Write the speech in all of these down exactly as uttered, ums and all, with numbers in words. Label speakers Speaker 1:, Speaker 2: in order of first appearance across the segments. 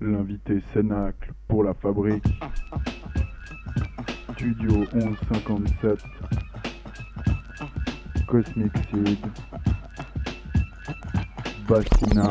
Speaker 1: L'invité Cénacle pour la fabrique. Studio onze cinquante-sept. Cosmic Seed. Bastina.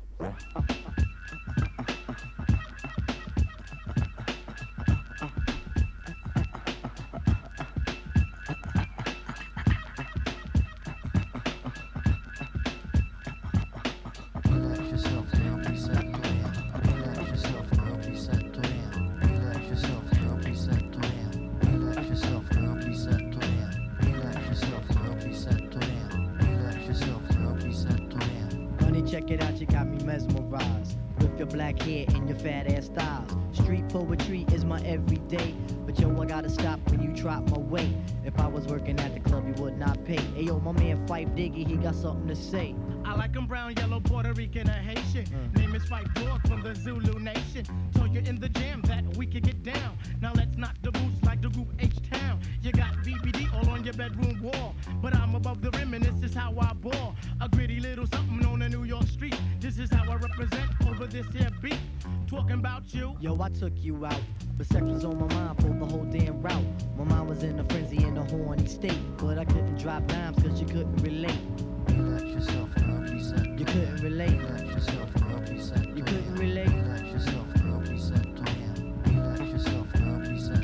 Speaker 2: Check it out, you got me mesmerized with your black hair and your fat ass styles. Street poetry is my everyday, but yo, I gotta stop when you drop my weight. If I was working at the club, you would not pay. Hey yo, my man Fife Diggy, he got something to say.
Speaker 3: I like him brown, yellow, Puerto Rican, or Haitian. Mm. Name is Fife Dog from the Zulu Nation. Told you in the jam that we could get down. Now let's knock the boots like the group H-Town. You got B B D all on your bedroom wall, but I'm above the rim and this is how I ball. A gritty little something on a New York street. This is how I represent over this here beat. Talking about you.
Speaker 2: Yo, I took you out, but sex was on my mind for the whole damn route. My mind was in a frenzy in a horny state, but I couldn't drop dimes cause you couldn't relate.
Speaker 4: Relax yourself, girl, reset.
Speaker 2: You couldn't relate.
Speaker 4: Relax yourself, girl, reset.
Speaker 2: You couldn't relate.
Speaker 4: Relax yourself, girl, reset. Relax yourself, girl, reset.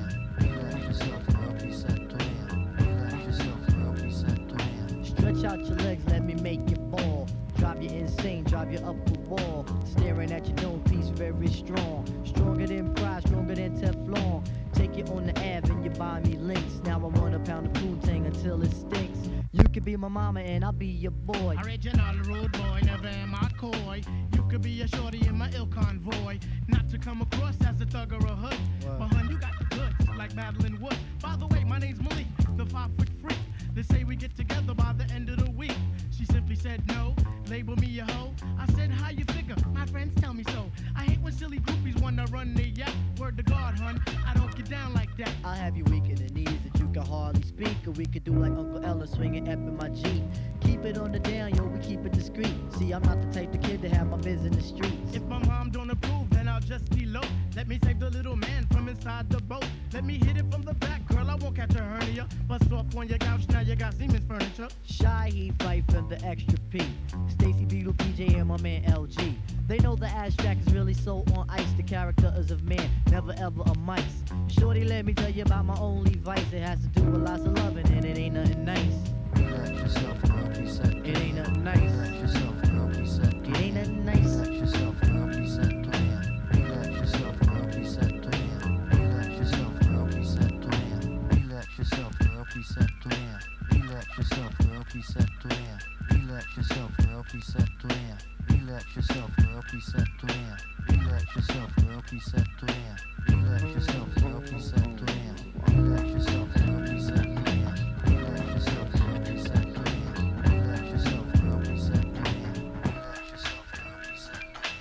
Speaker 4: Relax yourself, girl, reset. Relax yourself, girl, reset.
Speaker 2: Stretch out your legs, let me make you fall. Drive you insane, drive you up the wall. Staring at your dome piece, very strong. Stronger than pride, stronger than Teflon. Take you on the Ave and you buy me links. Now I want a pound of Poontang until it stinks. You could be my mama and I'll be your boy.
Speaker 3: Original rude boy, never am I coy. You could be a shorty in my ill convoy. Not to come across as a thug or a hood. Wow. But hun, you got the goods, like Madeline Wood. By the way, my name's Malik, the five foot freak. They say we get together by the end of the week. She simply said no, label me a hoe. I said, how you figure? My friends tell me so. I hate when silly groupies wanna run the yak. Word to God, hun, I don't get down like that.
Speaker 2: I'll have you weak in the knees that you can hardly speak. Or we could do like Uncle Ella swinging up in my Jeep. Keep it on the down, yo, we keep it discreet. See, I'm not the type of kid to have my biz in the streets.
Speaker 3: If my mom don't approve, then I'll just elope. Let me save the little man from inside the boat. Let me hit it from the back, girl, I won't catch a hernia. Bust off on your couch, now you got Siemens furniture.
Speaker 2: Shy, he fight from the extra P. Stacy Beetle, P J, and my man L G. They know the ass jack is really so on ice. The character is of man, never ever a mice. Shorty, let me tell you about my only vice. It has to do with lots of loving, and it ain't nothing nice.
Speaker 4: Relax yourself, girl, reset.
Speaker 2: It ain't nothing nice.
Speaker 4: Relax yourself, girl, reset.
Speaker 2: It ain't nothing nice.
Speaker 4: Relax yourself, girl, reset. Relax yourself, girl, reset. Relax yourself, girl, reset. Relax yourself, girl, reset. Relax yourself, girl, reset. Relax yourself, girl, reset. Relax yourself, girl, reset. Relax yourself, girl, reset. Relax yourself, girl, reset. Relax yourself, girl, reset. Relax yourself, girl, reset. Relax yourself, girl, reset. Relax yourself, girl, reset.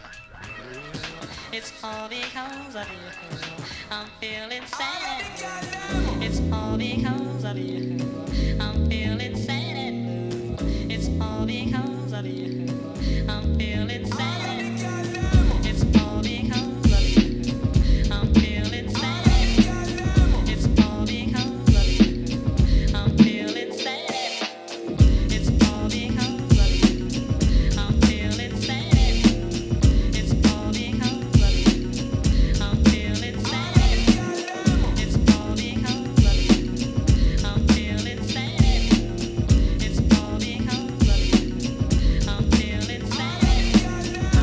Speaker 5: It's all because of you. I'm feeling sad. It's all because of you. I'm feeling sad and blue. It's all because of you. I'm feeling sad. It's all because of you. I'm feeling sad. It's all because of you. I'm feeling sad. It's all because of you. I'm feeling sad. It's all because of you. I'm feeling sad. It's all because of you. I'm feeling sad. It's all because of you. I'm feeling sad.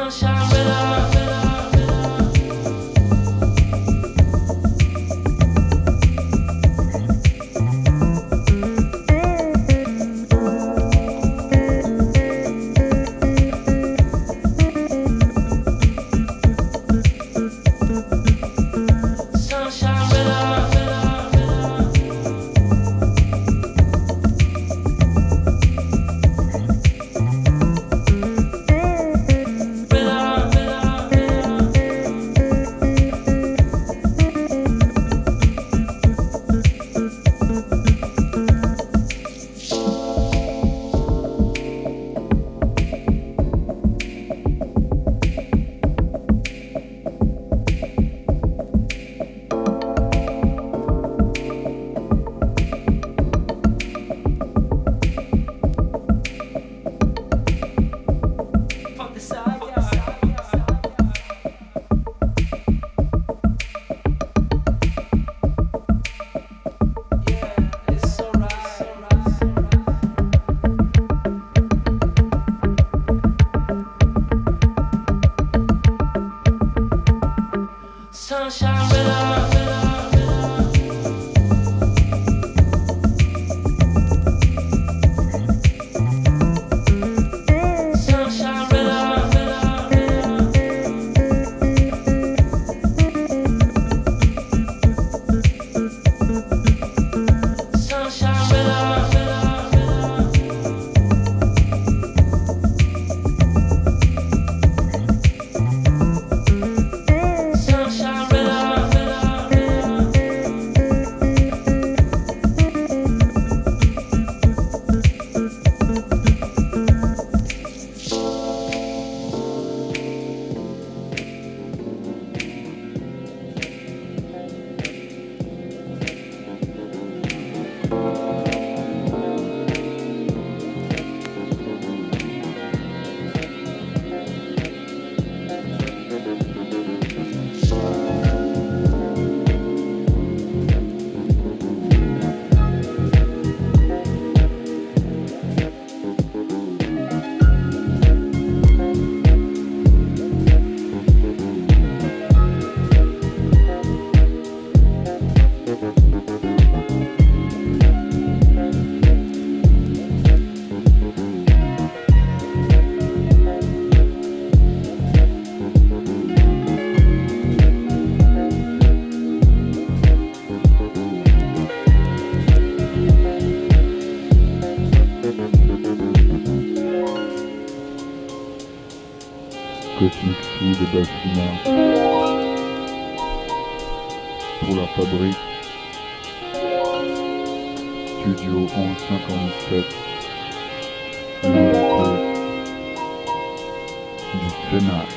Speaker 1: Cosmic Sea de Bafina pour la fabrique Studio onze cinquante-sept l'invité du Cénacle.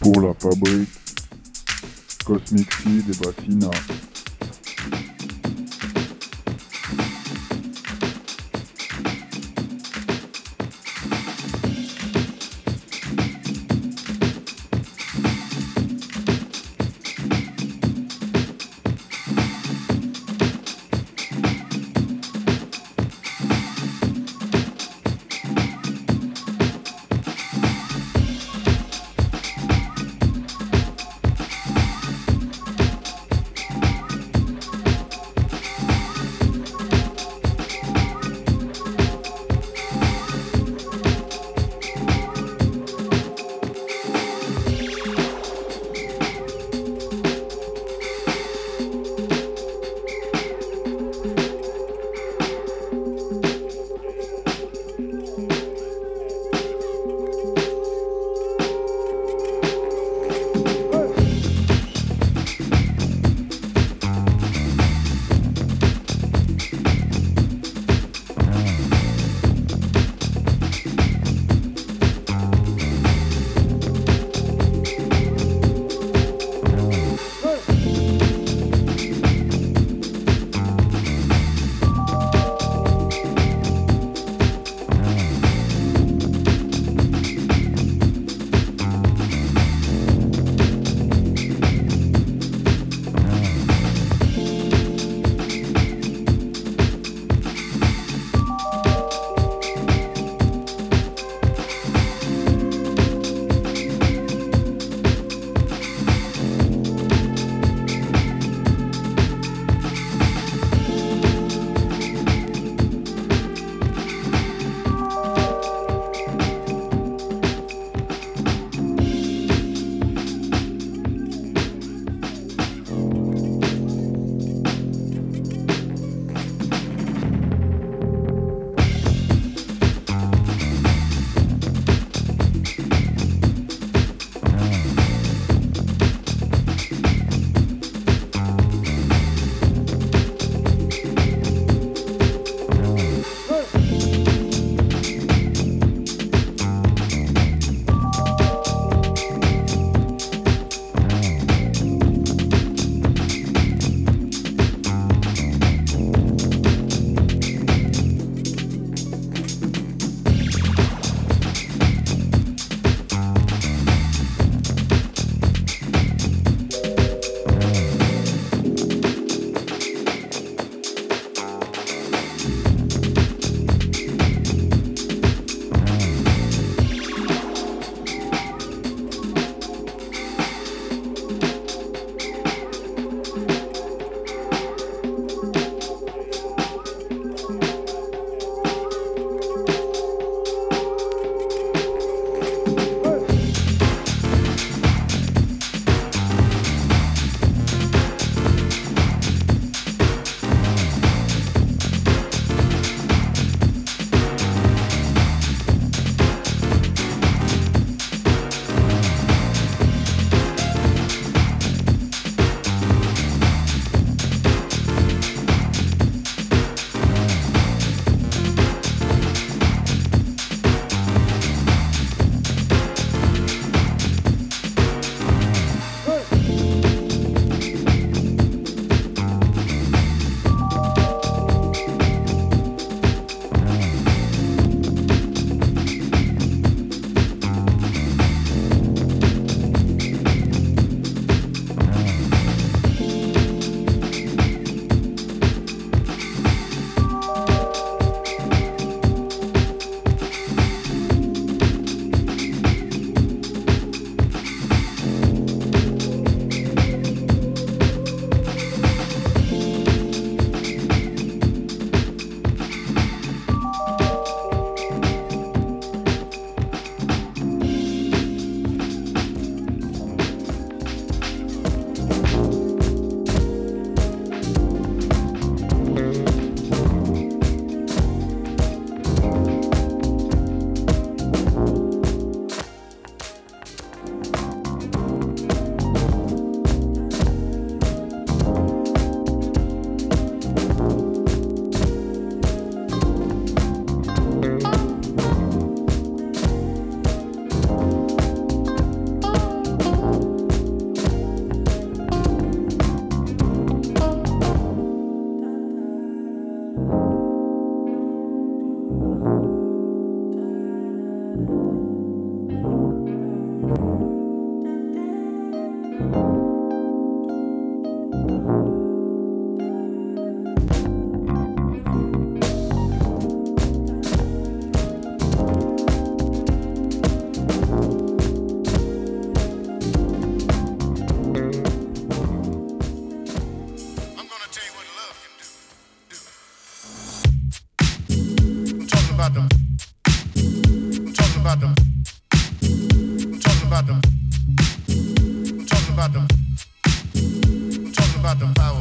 Speaker 1: pour la fabrique Cosmic Seed et Bassina.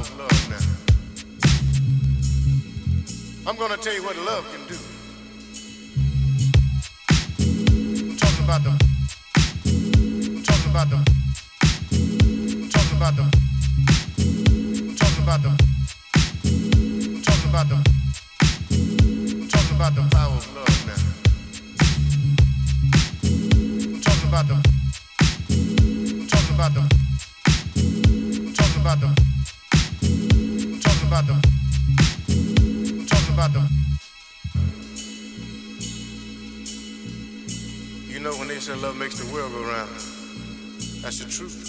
Speaker 6: of love now. I'm gonna tell you what love can do. I'm talking about them. I'm talking about them. I'm talking about them. I'm talking about them. I'm talking about them. I'm talking about the power of love now. I'm talking about them. I'm talking about them. I'm talking about them. I'm talking about them. I'm talking about them. You know when they say love makes the world go round, that's the truth.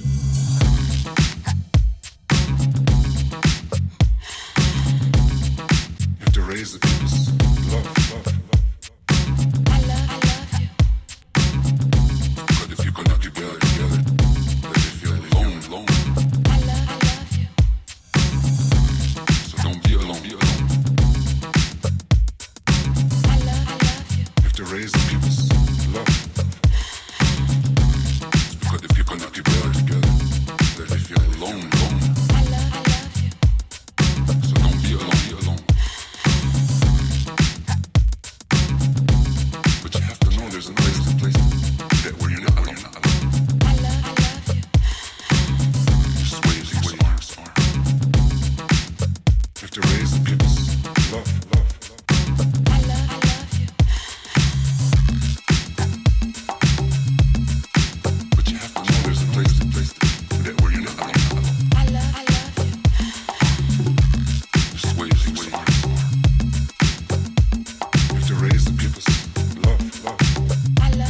Speaker 1: You have to raise the people's love, love, love.
Speaker 7: I love, I love you.
Speaker 1: But if you cannot together, together, then you feel alone, alone.
Speaker 7: I love, I love you.
Speaker 1: So don't be alone, be alone.
Speaker 7: I love, I love you.
Speaker 1: You have to raise the people's love. Because if you cannot together, together, then you feel alone, alone.
Speaker 7: I love, I love you.
Speaker 1: So don't be alone, be alone. But you have to know there's a place, a place that where you're not alone, not alone.
Speaker 7: I love, I love you.
Speaker 1: Just waves, he waves, arms, arms. You have to raise the people's love, love, love.
Speaker 7: I love, I love you.
Speaker 1: But you have to know there's a place, a place that where you're not alone, not alone.
Speaker 7: I love, I love you.
Speaker 1: Just waves, he waves, arms, arms. You have to raise the people's love, love.
Speaker 7: I love,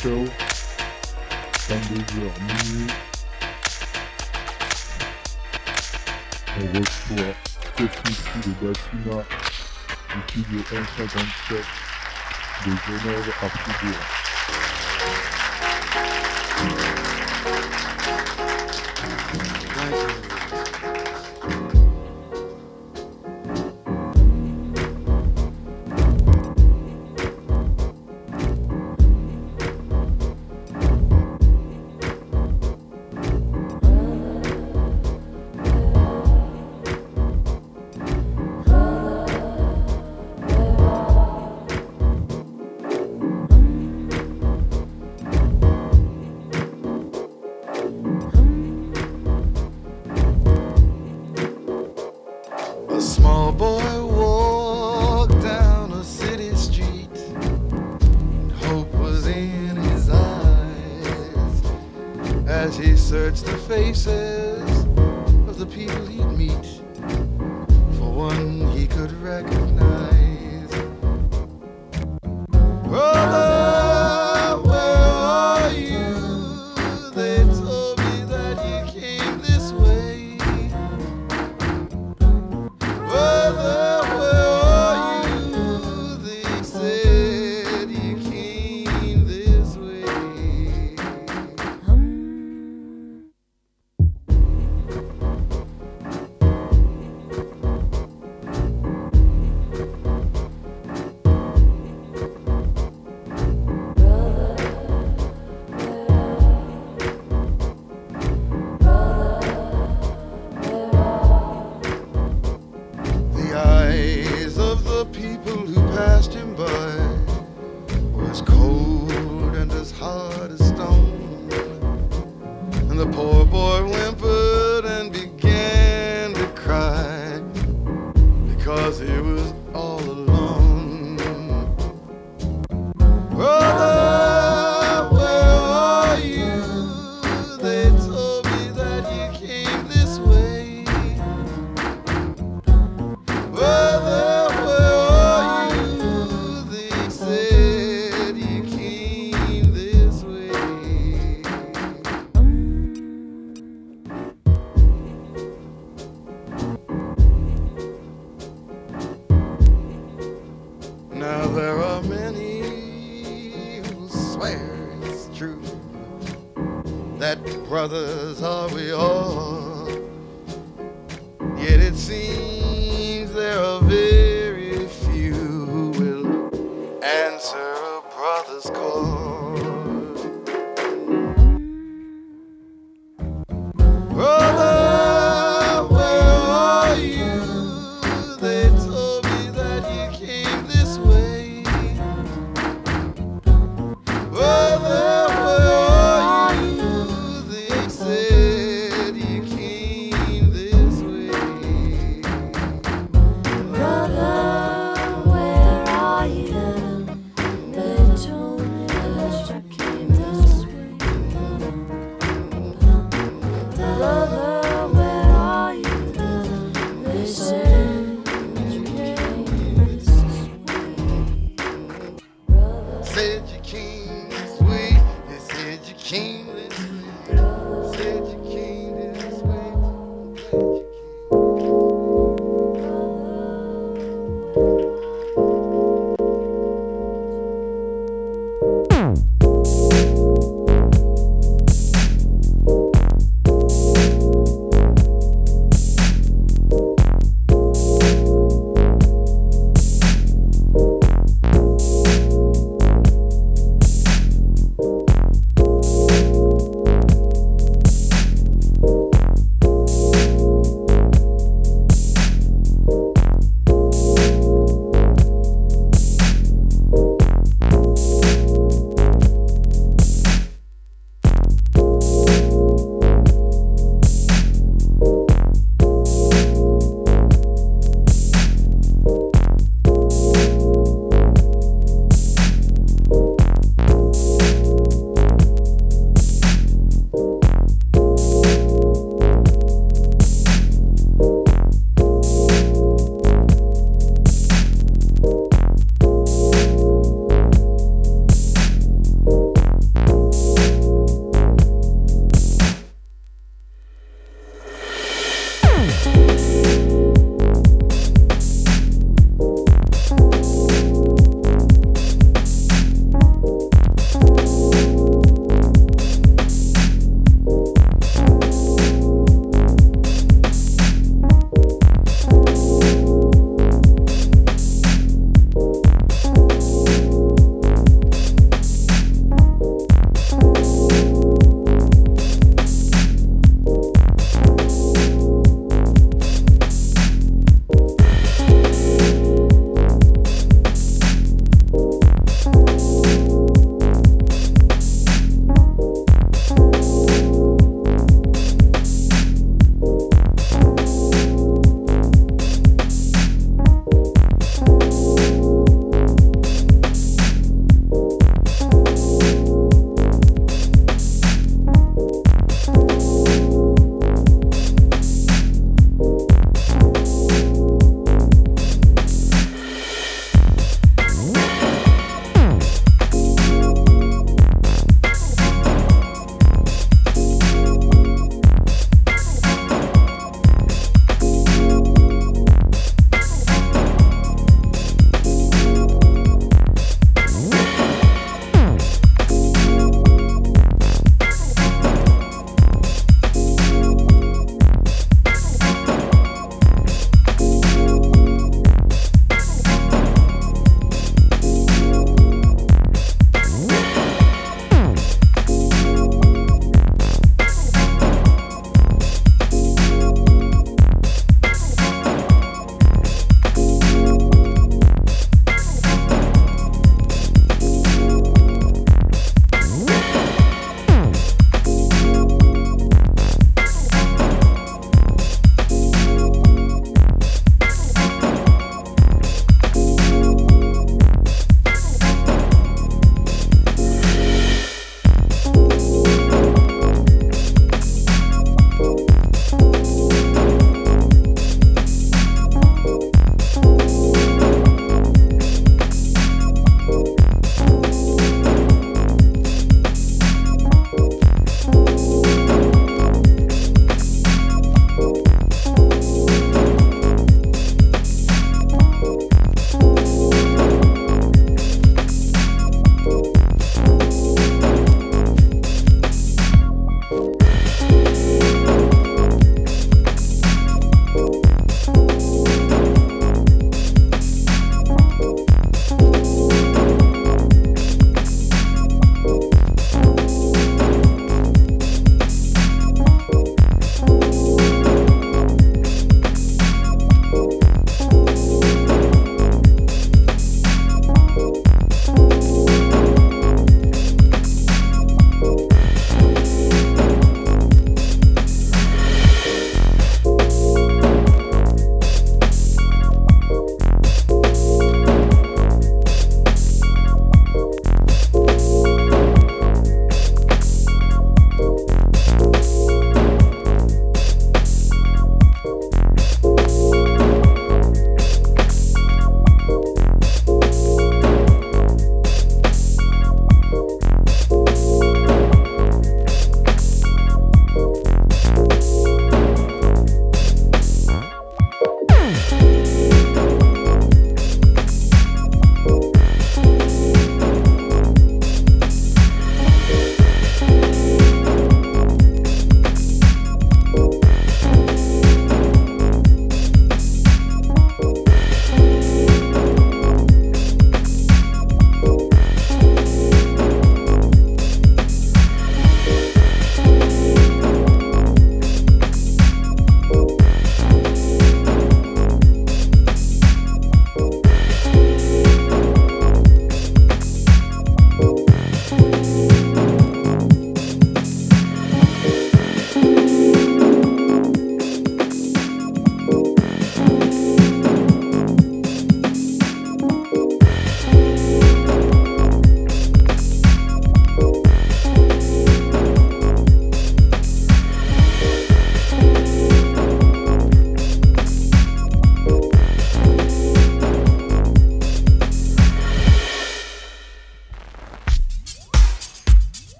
Speaker 8: Show, vingt-deux heures minuit. On reçoit Cosmici de Bassina du studio un cent cinquante-sept de Genève à Fribourg.
Speaker 9: A small boy walked down a city street, and hope was in his eyes as he searched the faces of the people he'd meet. For one he could recognize. Brother, where are you? They told me that you came this way. Brother, where are you? They said you came this way. The eyes of the people who passed him by were as cold and as hard as stone. And the poor boy whimpered and began to cry because he was all alone. Brother, where are you? They told me that you came this way. Brother, where are you? They said you came this way. Now there are many who swear it's true that brothers are we all. Yet it seems there are very few who will answer a brother's call. Brother, where are you? They told me that you came this way. Brother, where are you? They said you came this way.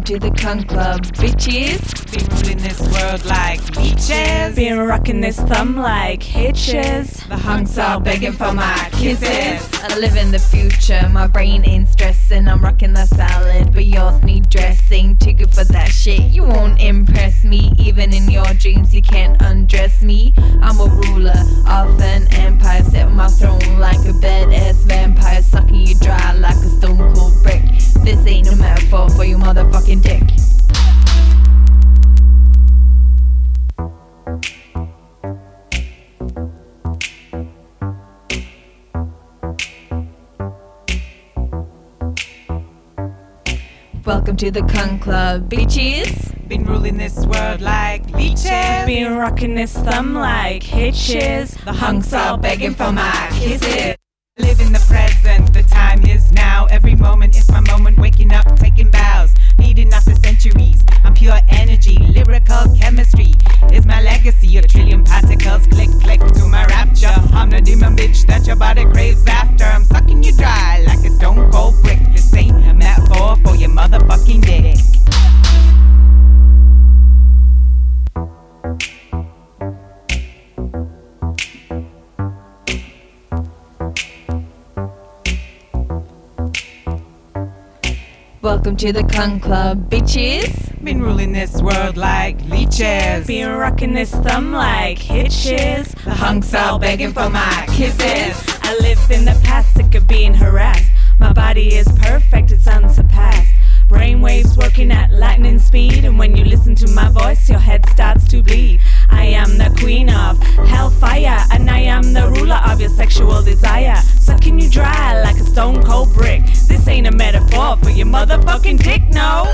Speaker 10: to the Cunt Club, bitches.
Speaker 11: Been ruling this world like leeches.
Speaker 10: Been rocking this thumb like hitches.
Speaker 11: The hunks are begging for my kisses.
Speaker 10: I live in the future, my brain ain't stressing. I'm rocking the salad, but yours need dressing. Too good for that shit, you won't impress me. Even in your dreams, you can't undress me. I'm a ruler of an empire, set on my throne like a badass vampire, sucking you dry like a stone cold brick. This ain't a metaphor for your motherfucking dick. Welcome to the Cunt Club, bitches.
Speaker 11: Been ruling this world like leeches.
Speaker 10: Been rocking this thumb like hitches.
Speaker 11: The hunks are begging for my kisses. Live in the present, the time is now. Every moment is my moment, waking up, taking bows. Feeding off the centuries, I'm pure energy. Lyrical chemistry is my legacy. A trillion particles, click, click to my rapture. I'm the demon bitch that your body craves after. I'm sucking you dry like a stone cold brick. This ain't a metaphor for your motherfucking dick.
Speaker 10: Welcome to the Cunt Club, bitches.
Speaker 11: Been ruling this world like leeches.
Speaker 10: Been rocking this thumb like hitches.
Speaker 11: The hunks are begging for my kisses.
Speaker 10: I live in the past, sick of being harassed. My body is perfect, it's unsurpassed. Brainwaves working at lightning speed, and when you listen to my voice, your head starts to bleed. I am the queen of hellfire, and I am the ruler of your sexual desire. Sucking you dry like a stone cold brick. This ain't a metaphor for your motherfucking dick, no.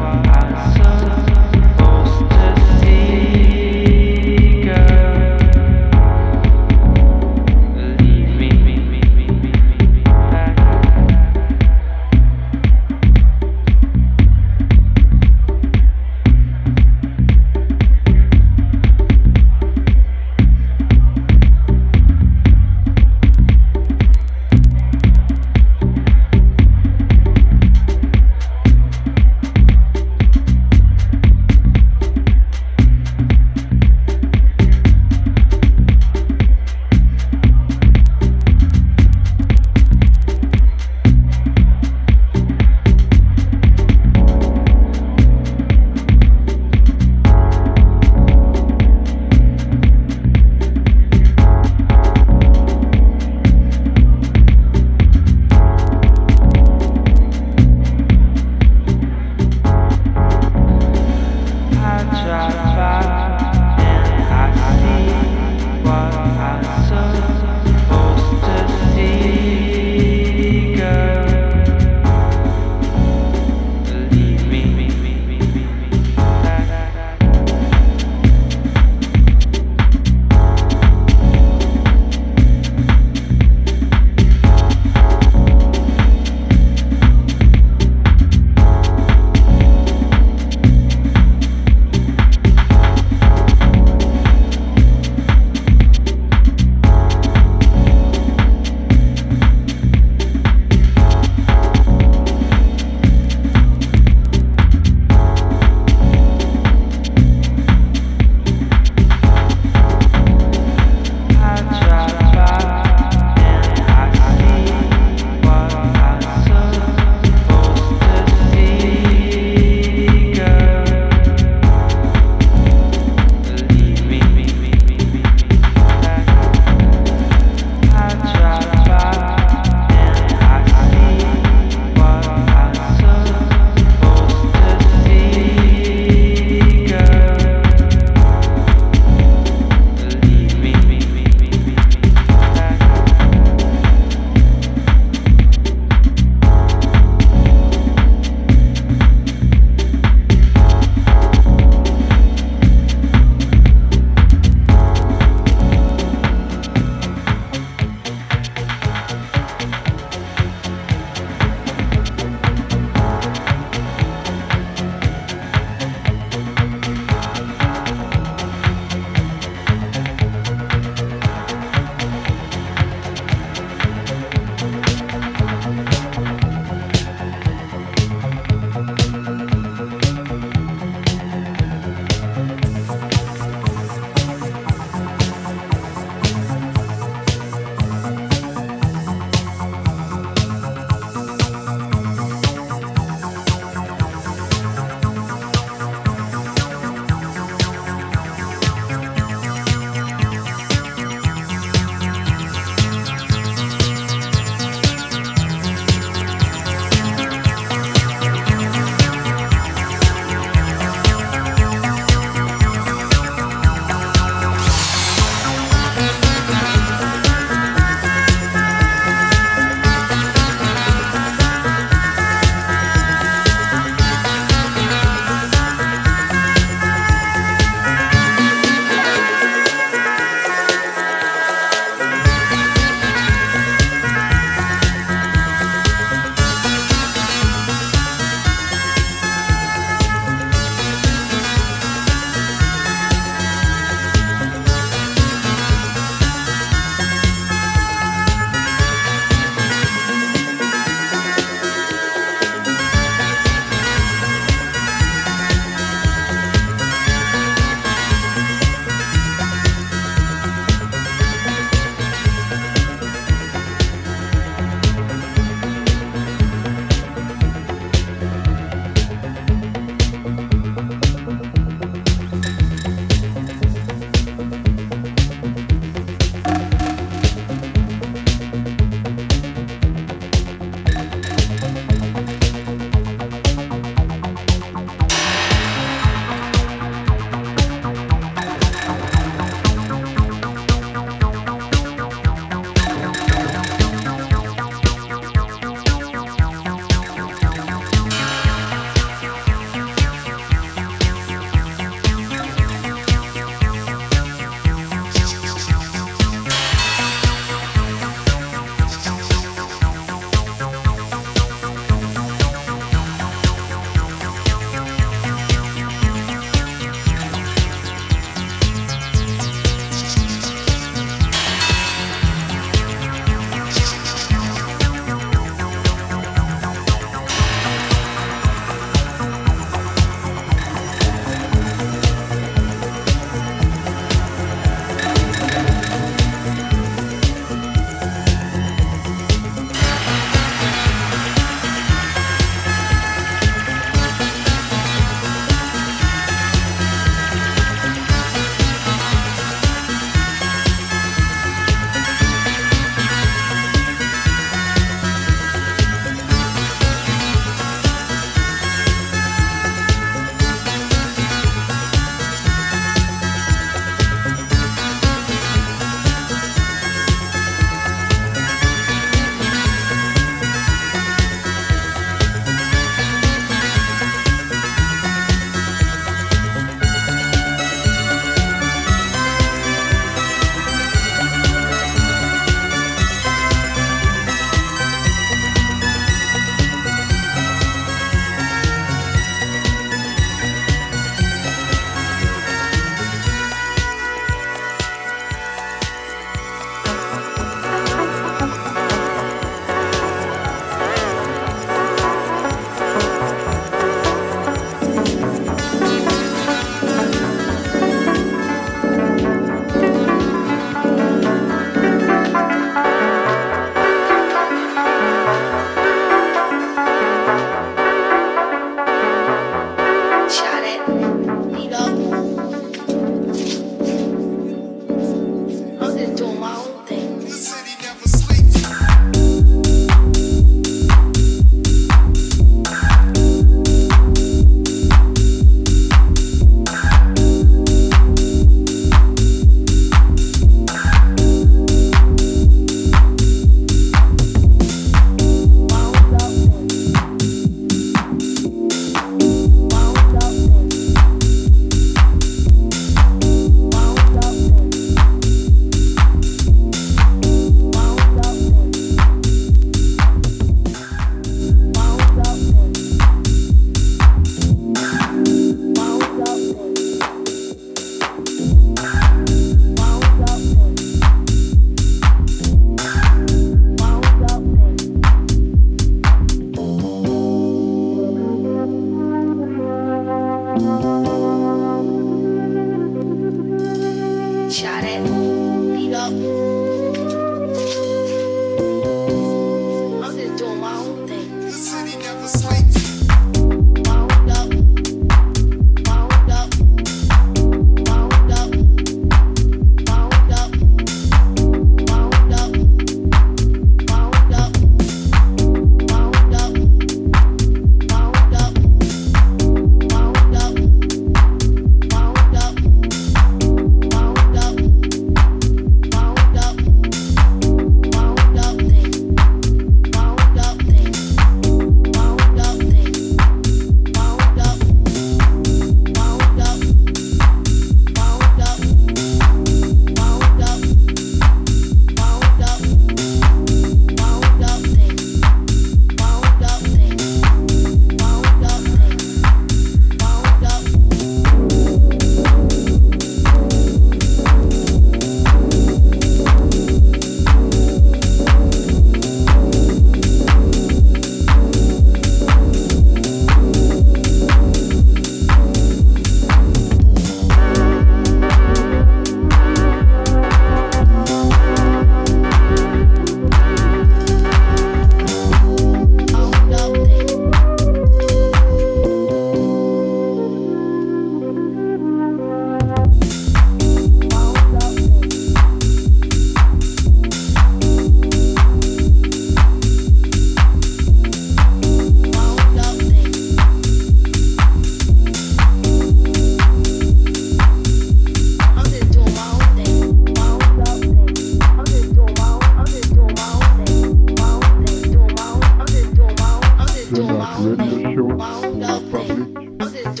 Speaker 8: Radio Show pour la fabrique, les invités,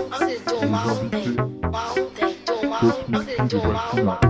Speaker 8: Cosmic de Bacina.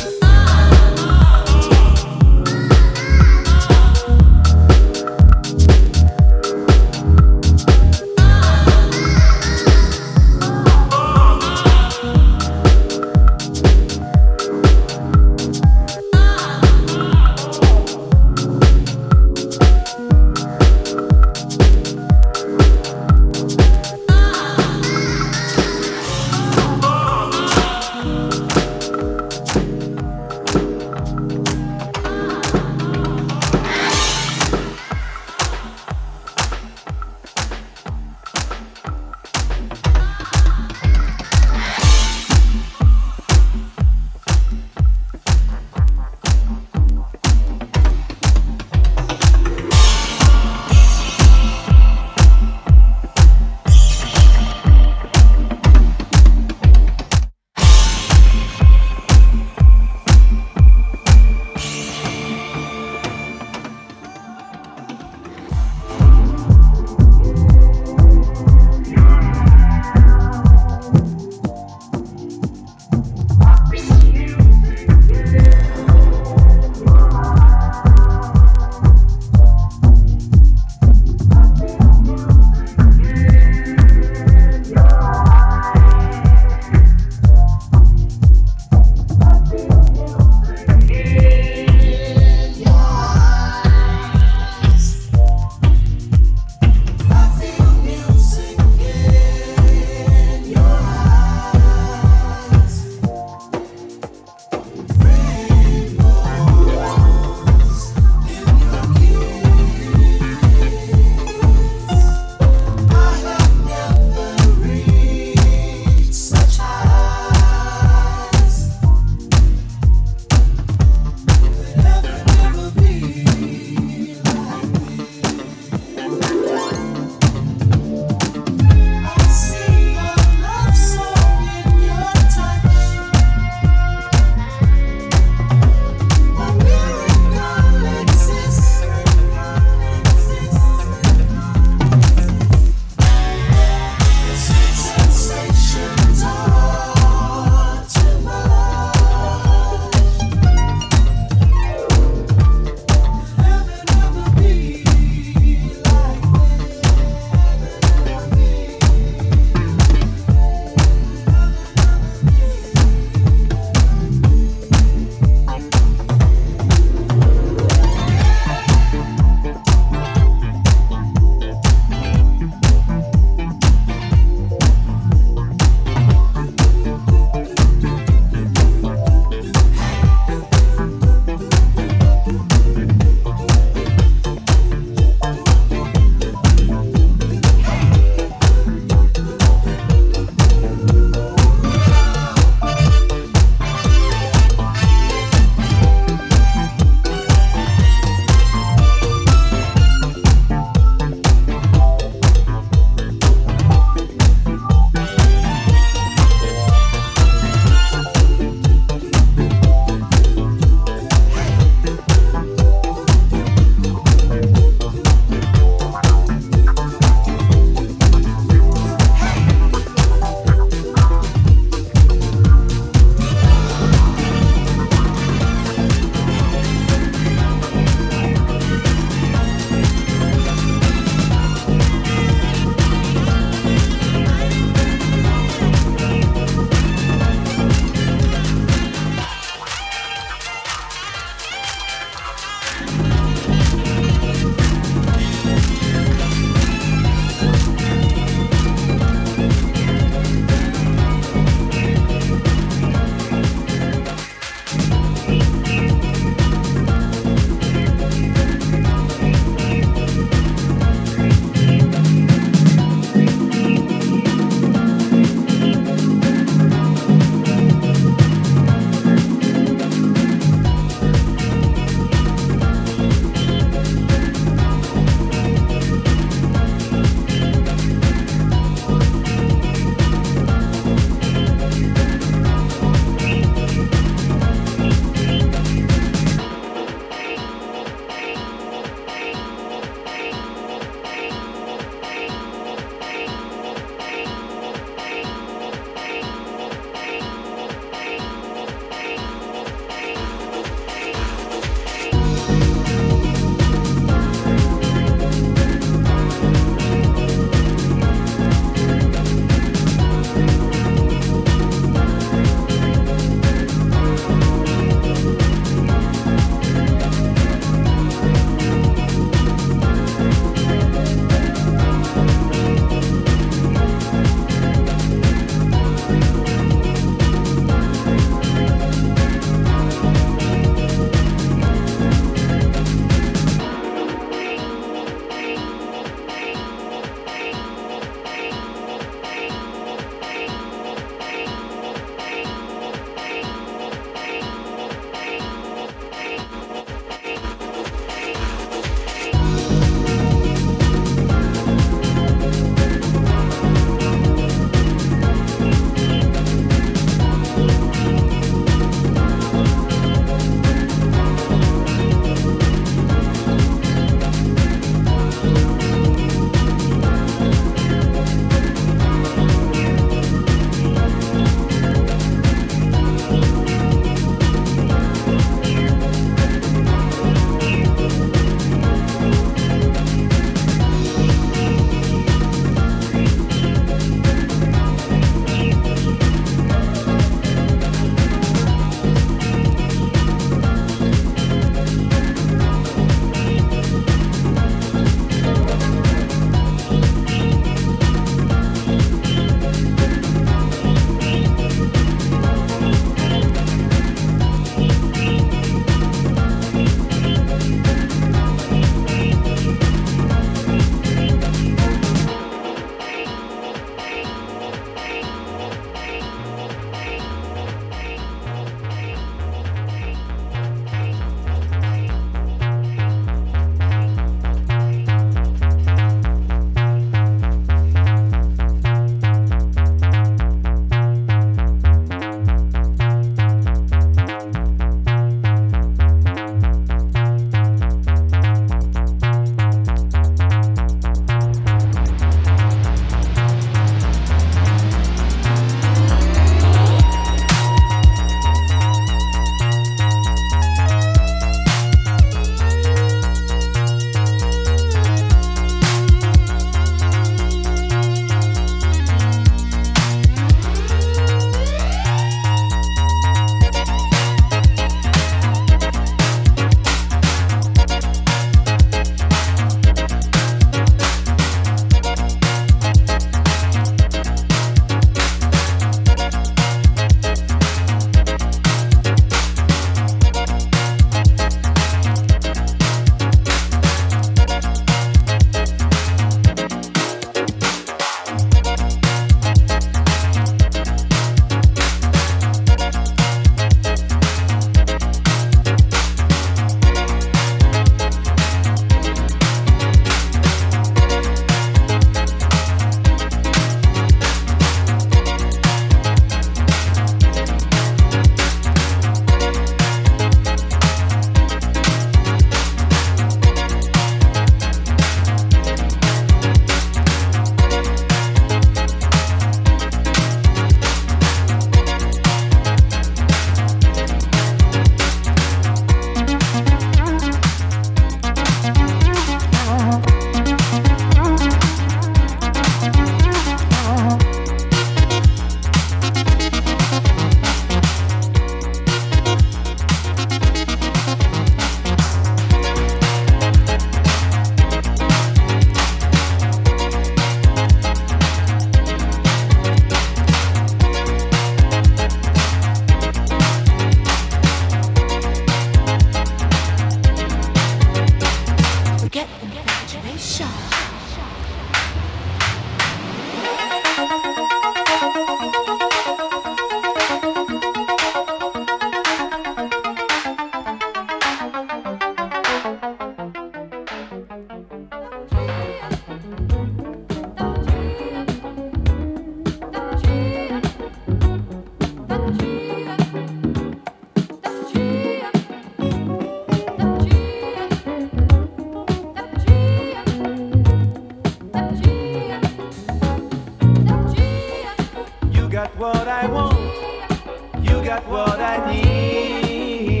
Speaker 12: what I want, you got what I need.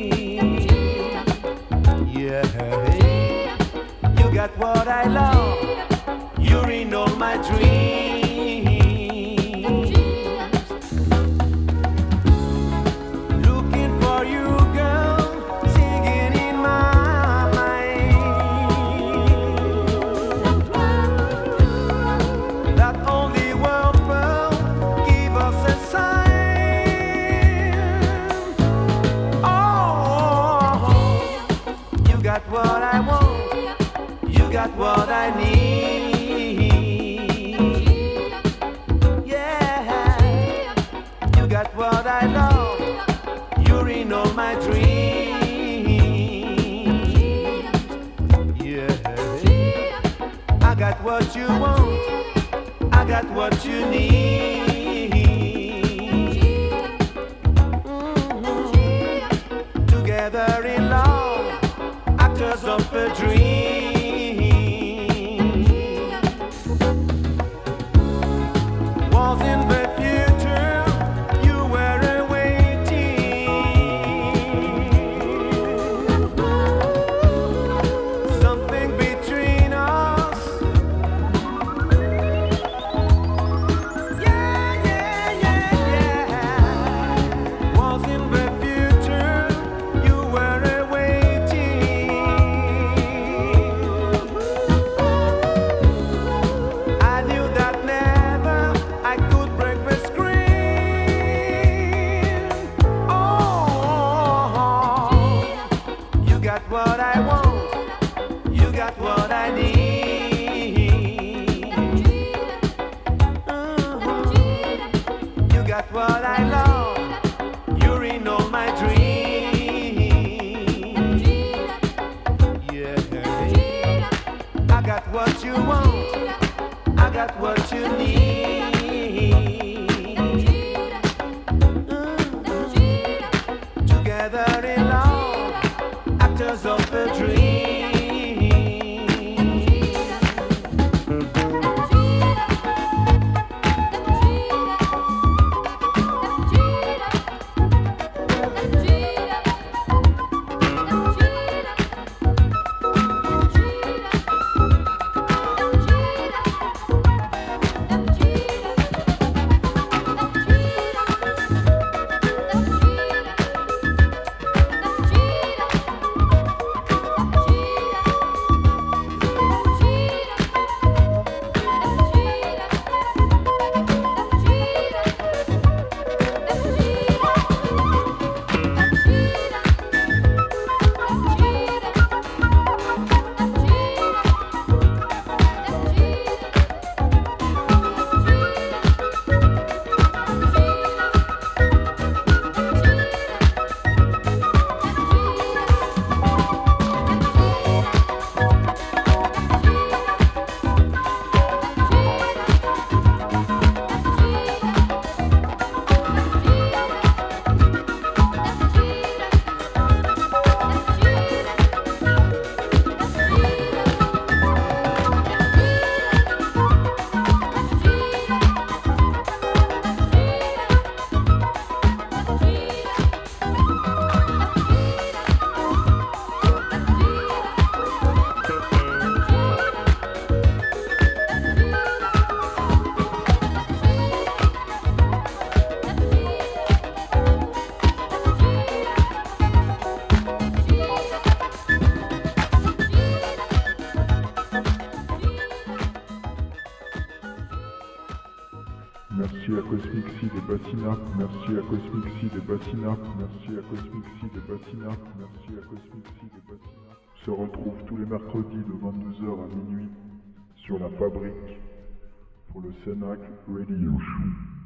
Speaker 12: Yeah, you got what I love, you're in all my dreams. Looking for you, girl, singing in my mind. That only world will give us a sign. Oh, you got what I want, you got what I need. Yeah, you got what I love, you're in all my dreams. Yeah, I got what you want, I got what you need. Mhm. Together in love, actors of a dream. Was in the future, you were awaiting. Something between us. Yeah, yeah, yeah, yeah. Was in the future, you were awaiting. I knew that never I could break the screen. Oh, you got what I want, you got what I need. Mhm. You got what I love, you're in all my dreams. Yeah, I got what you want, I got what you need. Mhm. Together in love, actors of a dream.
Speaker 8: Merci à Cosmic Seed et Bassina, merci à Cosmic Seed et Bassina, merci à Cosmic Seed et Bassina, merci à Cosmic Seed et Bassina. On se retrouve tous les mercredis de vingt-deux heures à minuit sur la Fabrique pour le Cenac Radio Show.